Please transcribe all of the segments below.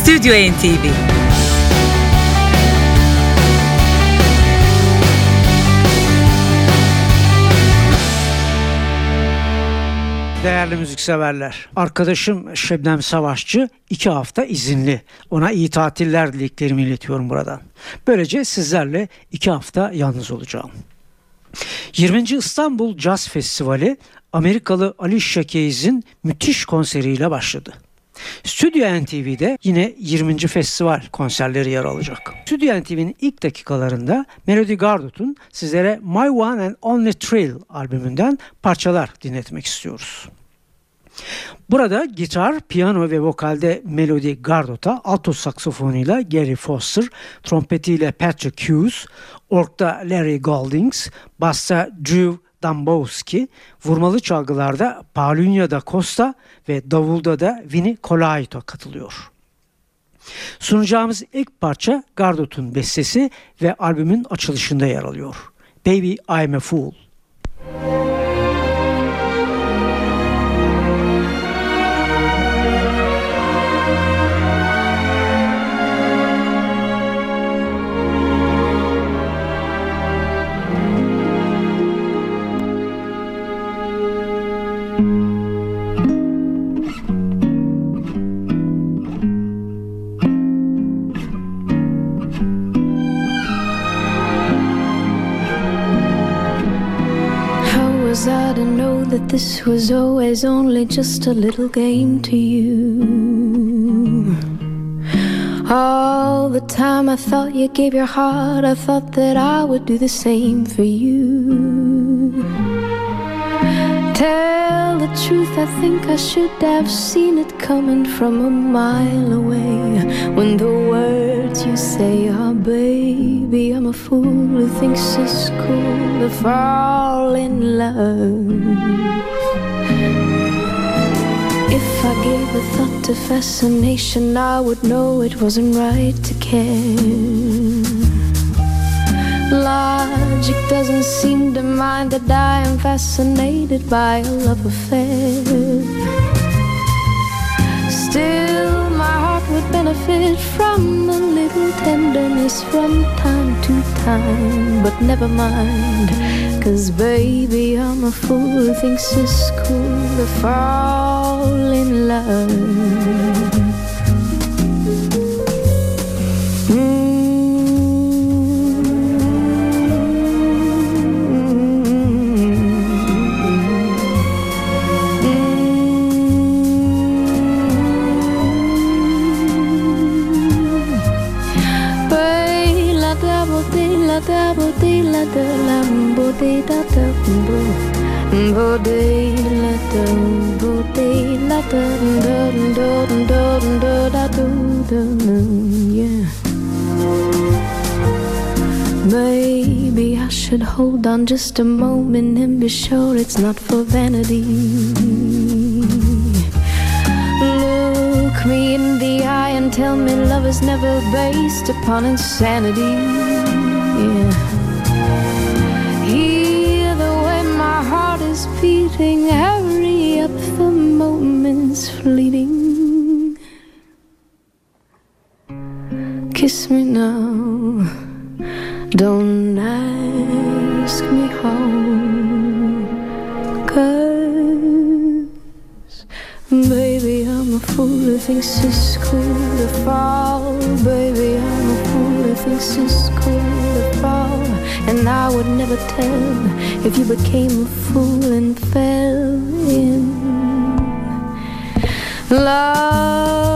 Stüdyo NTV. Değerli müzikseverler, arkadaşım Şebnem Savaşçı 2 hafta izinli. Ona iyi tatiller dileklerimi iletiyorum buradan. Böylece sizlerle 2 hafta yalnız olacağım. 20. İstanbul Jazz Festivali Amerikalı Alicia Keys'in müthiş konseriyle başladı. Stüdyo NTV'de yine 20. festival konserleri yer alacak. Stüdyo NTV'nin ilk dakikalarında Melody Gardot'un sizlere My One and Only Thrill albümünden parçalar dinletmek istiyoruz. Burada gitar, piyano ve vokalde Melody Gardot'a, alto saksafonuyla Gary Foster, trompetiyle Patrick Hughes, orgda Larry Goldings, basta Drew Dambowski, vurmalı çalgılarda Paulinho da Costa ve davulda da Vinny Colaiuta katılıyor. Sunacağımız ilk parça Gardot'un bestesi ve albümün açılışında yer alıyor. Baby I'm a Fool. I to know that this was always only just a little game to you. All the time I thought you gave your heart, I thought that I would do the same for you. Tell the truth, I think I should have seen it coming from a mile away. When the words you say are, baby, I'm a fool who thinks it's cool to fall in love. If I gave a thought to fascination, I would know it wasn't right to care. Logic doesn't seem to mind that I am fascinated by a love affair. Still, my heart would benefit from a little tenderness from time to time. But never mind, 'cause baby, I'm a fool who thinks it's cool to fall in love. Yeah. Maybe I should hold on just a moment and be sure it's not for vanity. Look me in the eye and tell me love is never based upon insanity. Yeah. Hear the way my heart is beating, hurry up, the moment's fleeting. Kiss me now, don't ask me how, 'cause baby, I'm a fool who thinks it's cool to fall. Baby, I'm a fool who thinks it's cool to fall. And I would never tell if you became a fool and fell in love.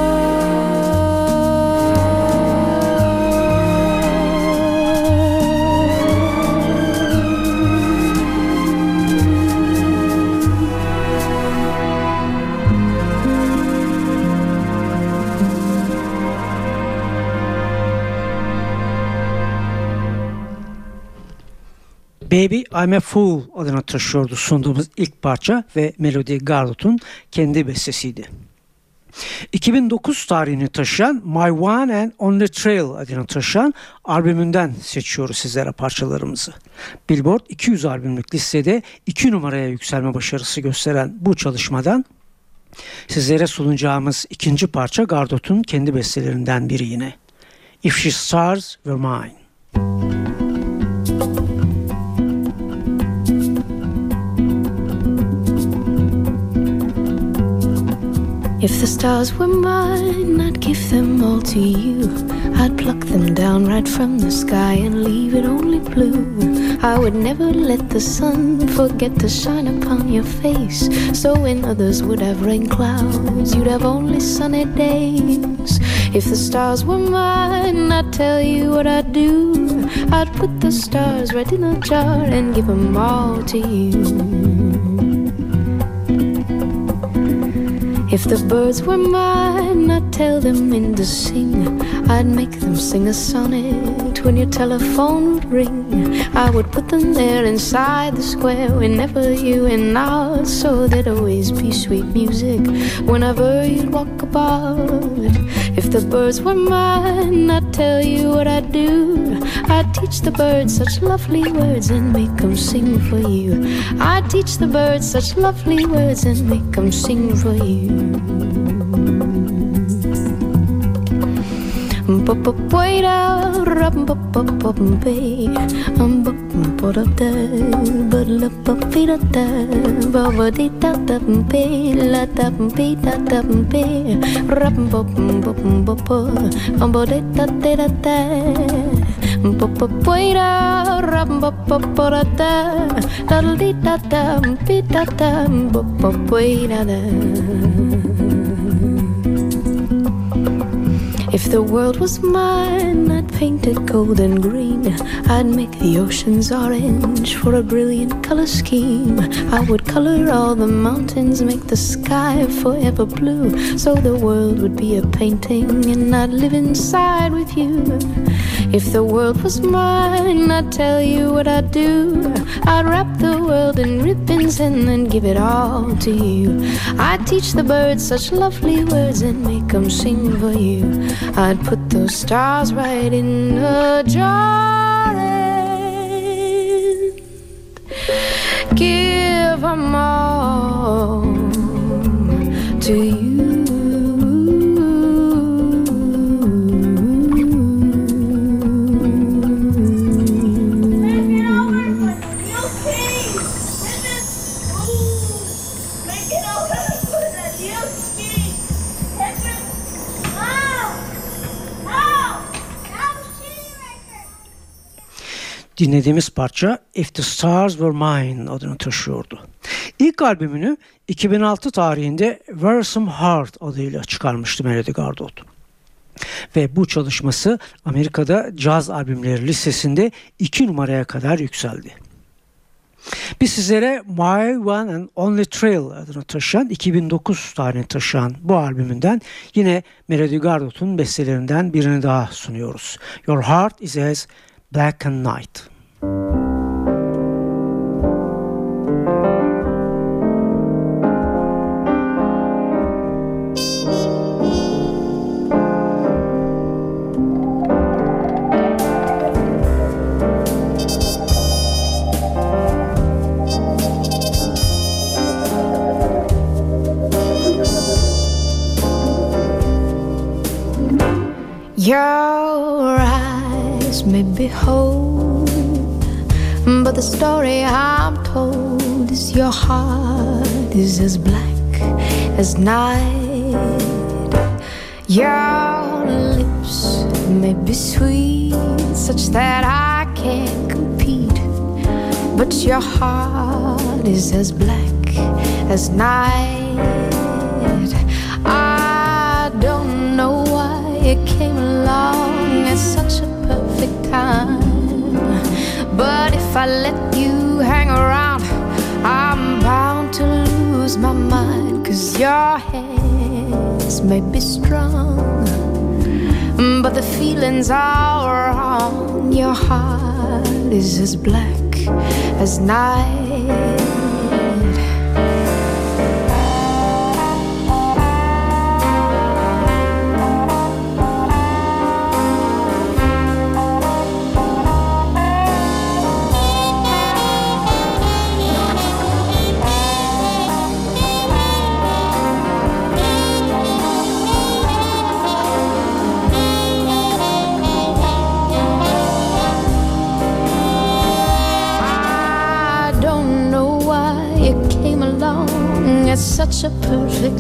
Baby I'm a Fool adını taşıyordu sunduğumuz ilk parça ve Melody Gardot'un kendi bestesiydi. 2009 tarihini taşıyan My One and Only Thrill adını taşıyan albümünden seçiyoruz sizlere parçalarımızı. Billboard 200 albümlük listede 2 numaraya yükselme başarısı gösteren bu çalışmadan Sizlere sunacağımız ikinci parça Gardot'un kendi bestelerinden biri yine. If She Stars Were Mine. If the stars were mine, I'd give them all to you. I'd pluck them down right from the sky and leave it only blue. I would never let the sun forget to shine upon your face. So when others would have rain clouds, you'd have only sunny days. If the stars were mine, I'd tell you what I'd do. I'd put the stars right in a jar and give them all to you. If the birds were mine, I'd tell them when to sing. I'd make them sing a sonnet when your telephone would ring. I would put them there inside the square whenever you went out, so there'd always be sweet music whenever you'd walk about. If the birds were mine, I'd tell you what I'd do. I'd teach the birds such lovely words and make them sing for you. I'd teach the birds such lovely words and make them sing for you. Wait out, if the world was mine, I'd paint it gold and green. I'd make the oceans orange for a brilliant color scheme. I would color all the mountains, make the sky forever blue, so the world would be a painting and I'd live inside with you. If the world was mine, I'd tell you what I'd do. I'd wrap the world in ribbons and then give it all to you. I'd teach the birds such lovely words and make them sing for you. I'd put those stars right in a jar and give them all to you. Dinlediğimiz parça If the Stars Were Mine adını taşıyordu. İlk albümünü 2006 tarihinde Were Some Heart adıyla çıkarmıştı Melody Gardot. Ve bu çalışması Amerika'da caz albümleri listesinde 2 numaraya kadar yükseldi. Biz sizlere My One and Only Thrill adını taşıyan 2009 tarihini taşıyan bu albümünden yine Melody Gardot'un bestelerinden birini daha sunuyoruz. Your Heart Is As Black and Night. Your eyes may behold, but the story I'm told is your heart is as black as night. Your lips may be sweet, such that I can't compete, but your heart is as black as night. I don't know why it came along at such a perfect time, but if I let you hang around, I'm bound to lose my mind. 'Cause your hands may be strong, but the feelings are wrong. Your heart is as black as night.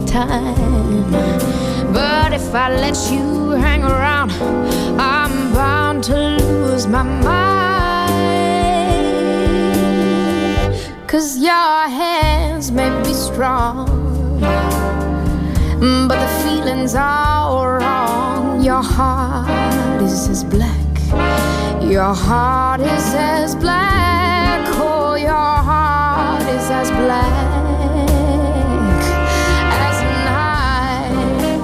time. But if I let you hang around, I'm bound to lose my mind. 'Cause your hands may be strong, but the feelings are wrong. Your heart is as black, your heart is as black, oh, your heart is as black as night.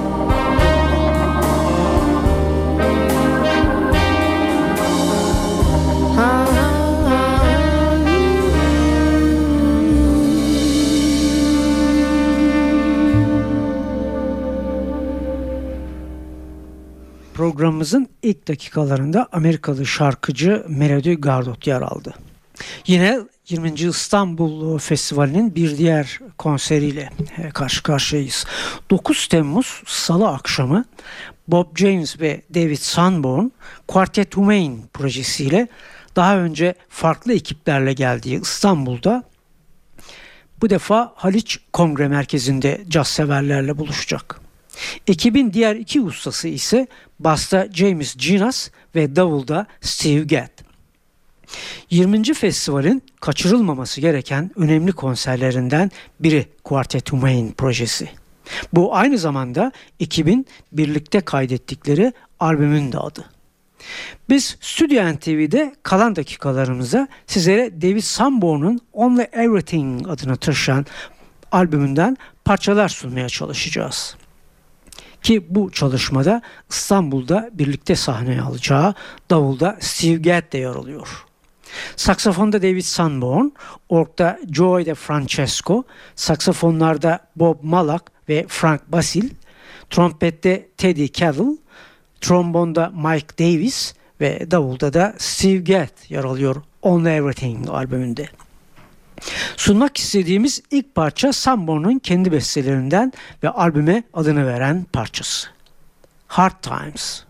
Programımızın ilk dakikalarında Amerikalı şarkıcı Melody Gardot yer aldı. Yine 20. İstanbul Festivali'nin bir diğer konseriyle karşı karşıyayız. 9 Temmuz Salı akşamı Bob James ve David Sanborn Quartet Humain projesiyle daha önce farklı ekiplerle geldiği İstanbul'da bu defa Haliç Kongre Merkezi'nde caz severlerle buluşacak. Ekibin diğer iki ustası ise basta James Ginas ve davulda Steve Gadd. 20. festivalin kaçırılmaması gereken önemli konserlerinden biri Quartet Humain projesi. Bu aynı zamanda ekibin birlikte kaydettikleri albümün de adı. Biz Stüdyo NTV'de kalan dakikalarımıza sizlere David Sanborn'un Only Everything adını taşıyan albümünden parçalar sunmaya çalışacağız. Ki bu çalışmada İstanbul'da birlikte sahneye alacağı davulda Steve Gadd de yer alıyor. Saksafonda David Sanborn, orgda Joey De Francesco, saksafonlarda Bob Malak ve Frank Basil, trompette Teddy Caddell, trombonda Mike Davis ve davulda da Steve Gadd yer alıyor Only Everything albümünde. Sunmak istediğimiz ilk parça Sanborn'un kendi bestelerinden ve albüme adını veren parçası. Hard Times.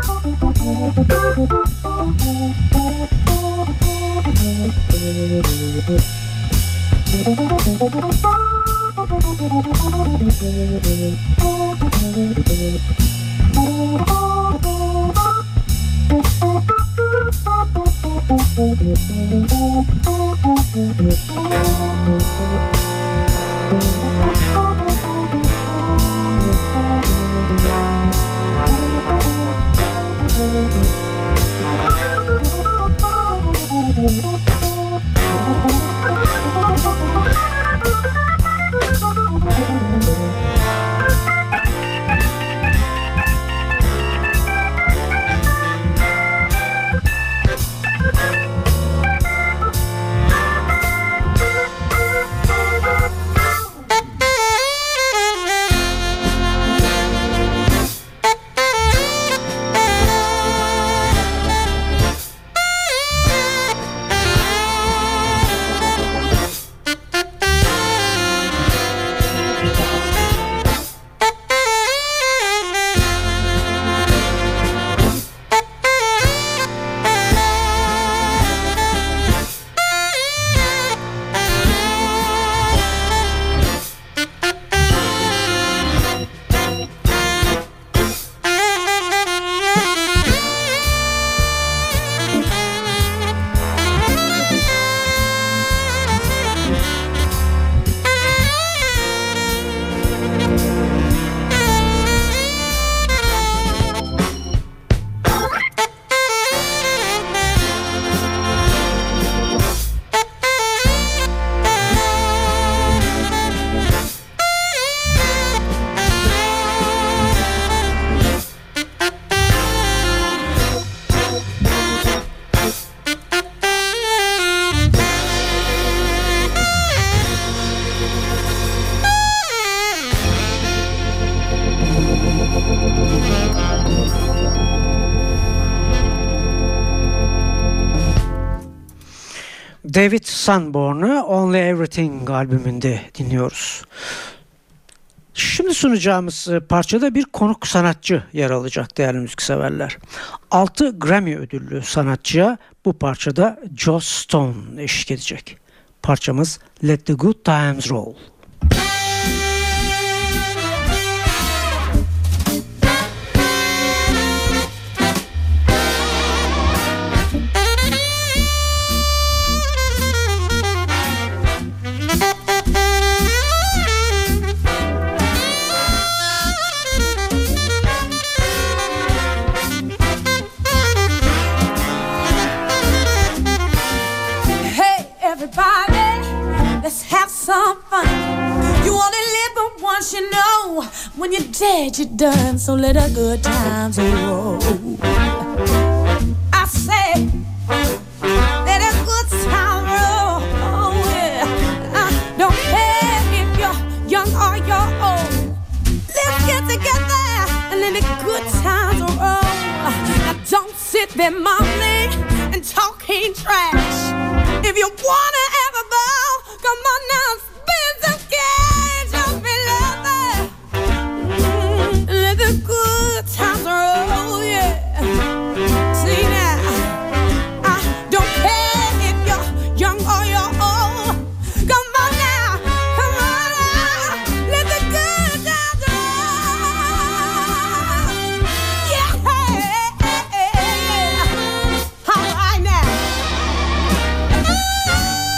David Sanborn'u Only Everything albümünde dinliyoruz. Şimdi sunacağımız parçada bir konuk sanatçı yer alacak değerli müzikseverler. 6 Grammy ödüllü sanatçıya bu parçada Joss Stone eşlik edecek. Parçamız Let the Good Times Roll. Let's have some fun. You only live but once, you know. When you're dead, you're done. So let the good times roll. I say, let a good time roll. Oh yeah. I don't care if you're young or you're old. Let's get together and let the good times roll. Now don't sit there mumbling and talking trash. If you wanna ever bow, come on now, spin some cash. Don't be loving. Let the good times roll, yeah. See now, I don't care if you're young or you're old. Come on now, let the good times roll. Yeah, all right now.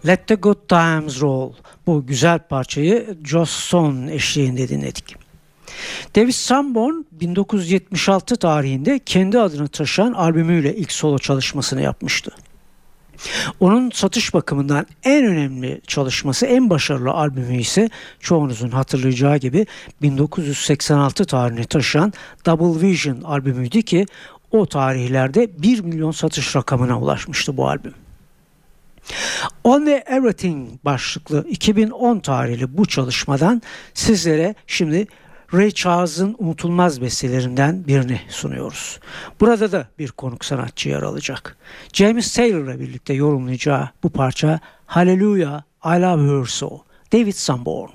Let the Good Times Roll. Bu güzel parçayı Joss Stone eşliğinde dinledik. David Sanborn 1976 tarihinde kendi adını taşıyan albümüyle ilk solo çalışmasını yapmıştı. Onun satış bakımından en önemli çalışması, en başarılı albümü ise çoğunuzun hatırlayacağı gibi 1986 tarihini taşıyan Double Vision albümüydü ki o tarihlerde 1 milyon satış rakamına ulaşmıştı bu albüm. Only Everything başlıklı 2010 tarihli bu çalışmadan sizlere şimdi Ray Charles'ın unutulmaz bestelerinden birini sunuyoruz. Burada da bir konuk sanatçı yer alacak. James Taylor'la birlikte yorumlayacağı bu parça Hallelujah, I Love Her So, David Sanborn.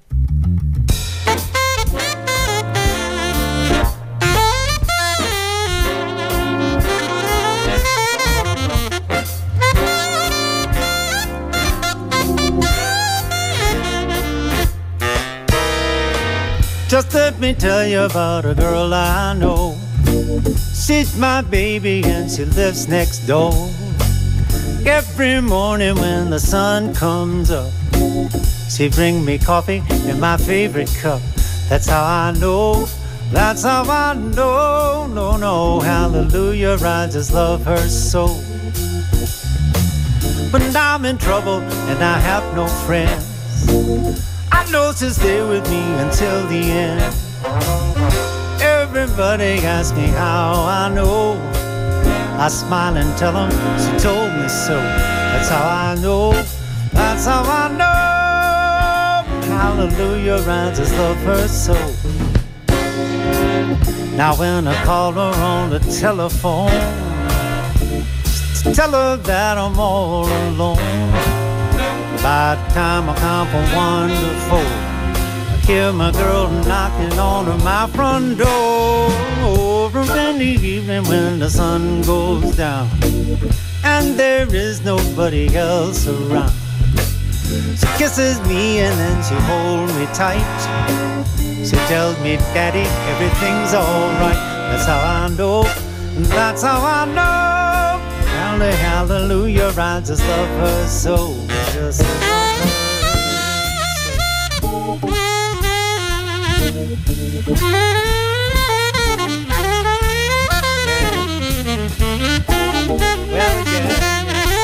Just let me tell you about a girl I know. She's my baby and she lives next door. Every morning when the sun comes up, she bring me coffee in my favorite cup. That's how I know, that's how I know, no, hallelujah, I just love her so. When I'm in trouble and I have no friends, I know she'll stay with me until the end. Everybody asks me how I know. I smile and tell them she told me so. That's how I know, that's how I know. Hallelujah, I just love her so. Now when I call her on the telephone, tell her that I'm all alone. By the time I count from 1 to 4, I hear my girl knocking on my front door. Over in the evening when the sun goes down and there is nobody else around, she kisses me and then she holds me tight. She tells me, Daddy, everything's alright. That's how I know, that's how I know. Hallelujah, I just love her so. Just love her so. Well, yeah.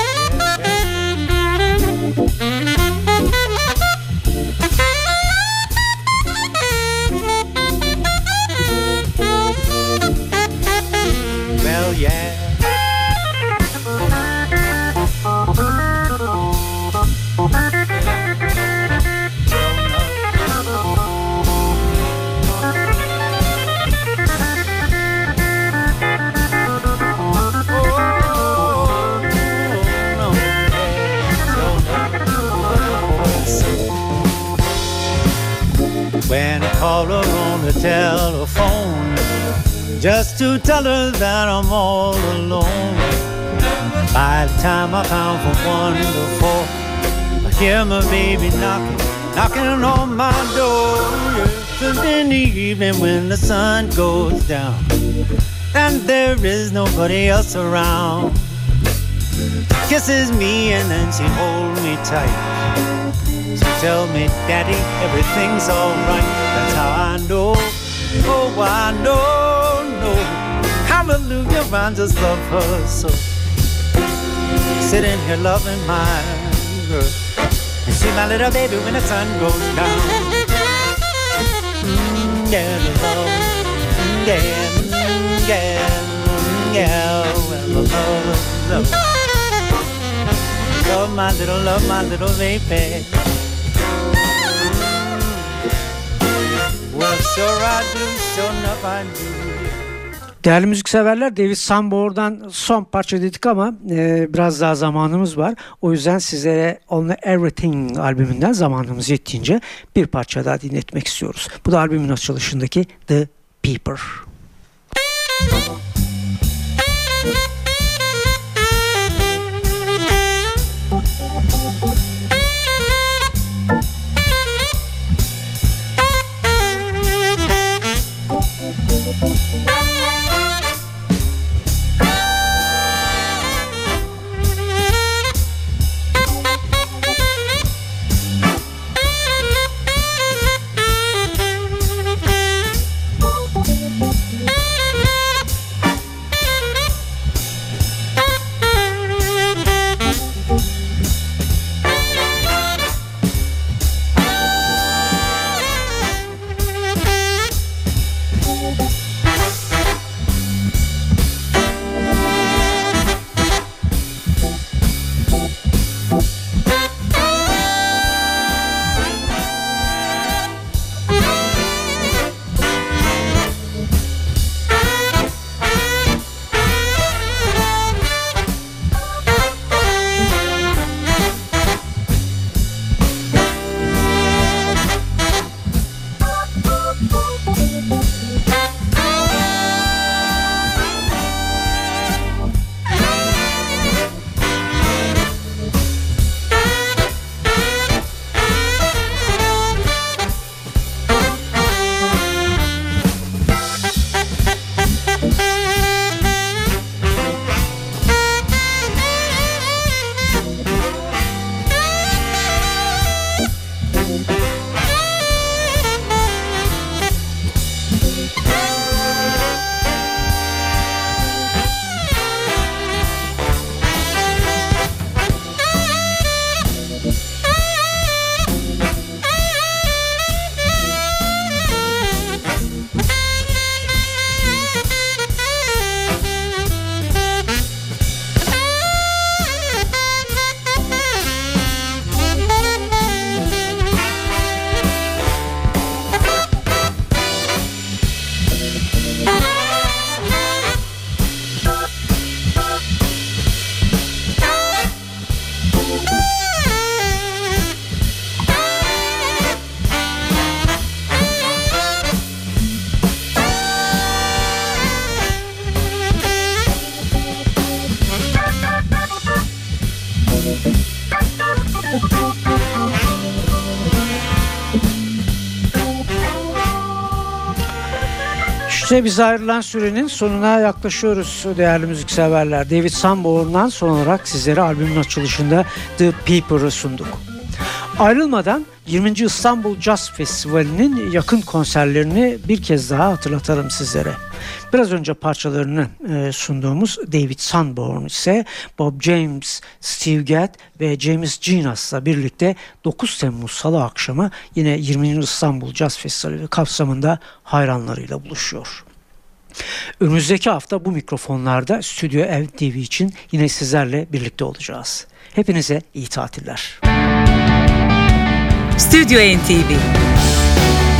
Well, yeah. When I call her on the telephone, just to tell her that I'm all alone. By the time I count from 1 to 4, I hear my baby knocking on my door. Yes, and in the evening when the sun goes down and there is nobody else around, she kisses me and then she holds me tight. She tells me, Daddy, everything's alright. That's how I know, oh I know, hallelujah, I just love her so. Sitting here loving my girl, and she's my little baby when the sun goes down. Yeah, the love, well, love. Love my little baby. Well, sure I do, sure enough I do. Değerli müzikseverler, David Sanborn'dan son parça dedik ama biraz daha zamanımız var. O yüzden sizlere Only Everything albümünden zamanımız yettiğince bir parça daha dinletmek istiyoruz. Bu da albümün açılışındaki The Peeper. İşte biz ayrılan sürenin sonuna yaklaşıyoruz değerli müzikseverler. David Sanborn'dan son olarak sizlere albümün açılışında The Paper'ı sunduk. Ayrılmadan 20. İstanbul Jazz Festivali'nin yakın konserlerini bir kez daha hatırlatalım sizlere. Biraz önce parçalarını sunduğumuz David Sanborn ise Bob James, Steve Gadd ve James Genas'la birlikte 9 Temmuz Salı akşamı yine 20. İstanbul Jazz Festivali kapsamında hayranlarıyla buluşuyor. Önümüzdeki hafta bu mikrofonlarda Stüdyo NTV için yine sizlerle birlikte olacağız. Hepinize iyi tatiller. Stüdyo NTV